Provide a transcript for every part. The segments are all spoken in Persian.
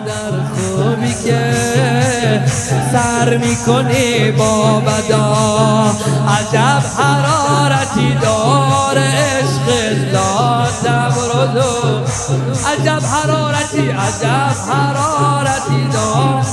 در خوبی که سر میکنی با بدا. عجب حرارتی داره عشق لاتم رودو، عجب حرارتی داره.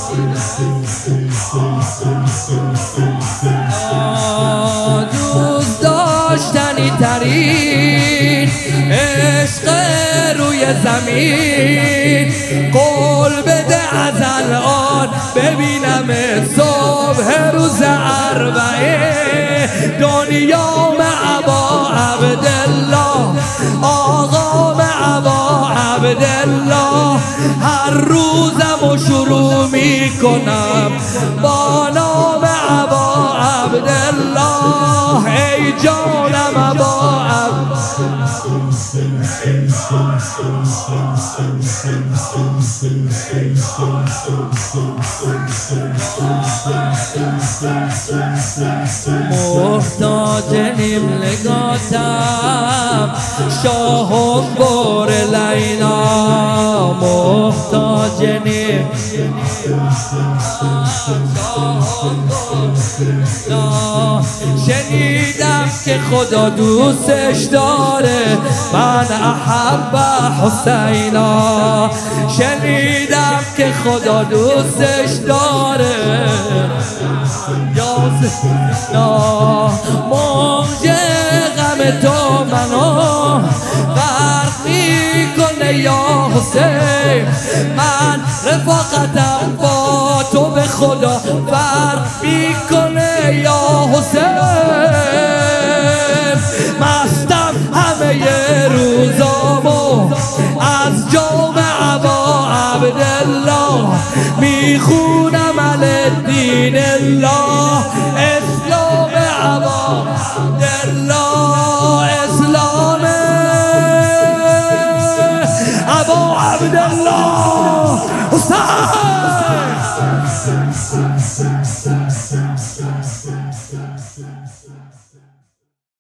دوست داشتنی ترین عشق روی زمین، قول بده از الان ببینم صبح روز اربعه. دنیا ابا عبدالله، آقا ابا عبدالله، هر روزمو شروع میکنم با نام ابا عبدالله. ای جانم ابا محتاج نملگاتم شاهم بور لینا، محتاج شنیدم که خدا دوستش داره، من احب حسینا. شنیدم که خدا دوستش داره، موج غم تو منو غرق میکنه یا حسین. من رفاقتم با تو به خدا فرق میکنه یا حسین. مستم همه روزامو از جام ابا عبدالله، میخونم الدین الله.